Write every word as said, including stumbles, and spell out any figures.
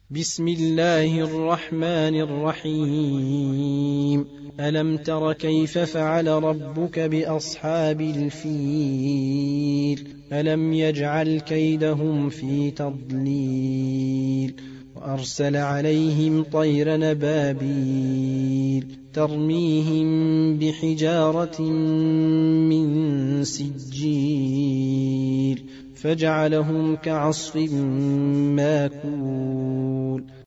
بسم الله الرحمن الرحيم. ألم تر كيف فعل ربك بأصحاب الفيل ألم يجعل كيدهم في تضليل وأرسل عليهم طير نبابيل ترميهم بحجارة من سجيل فجعلهم كعصف ماكول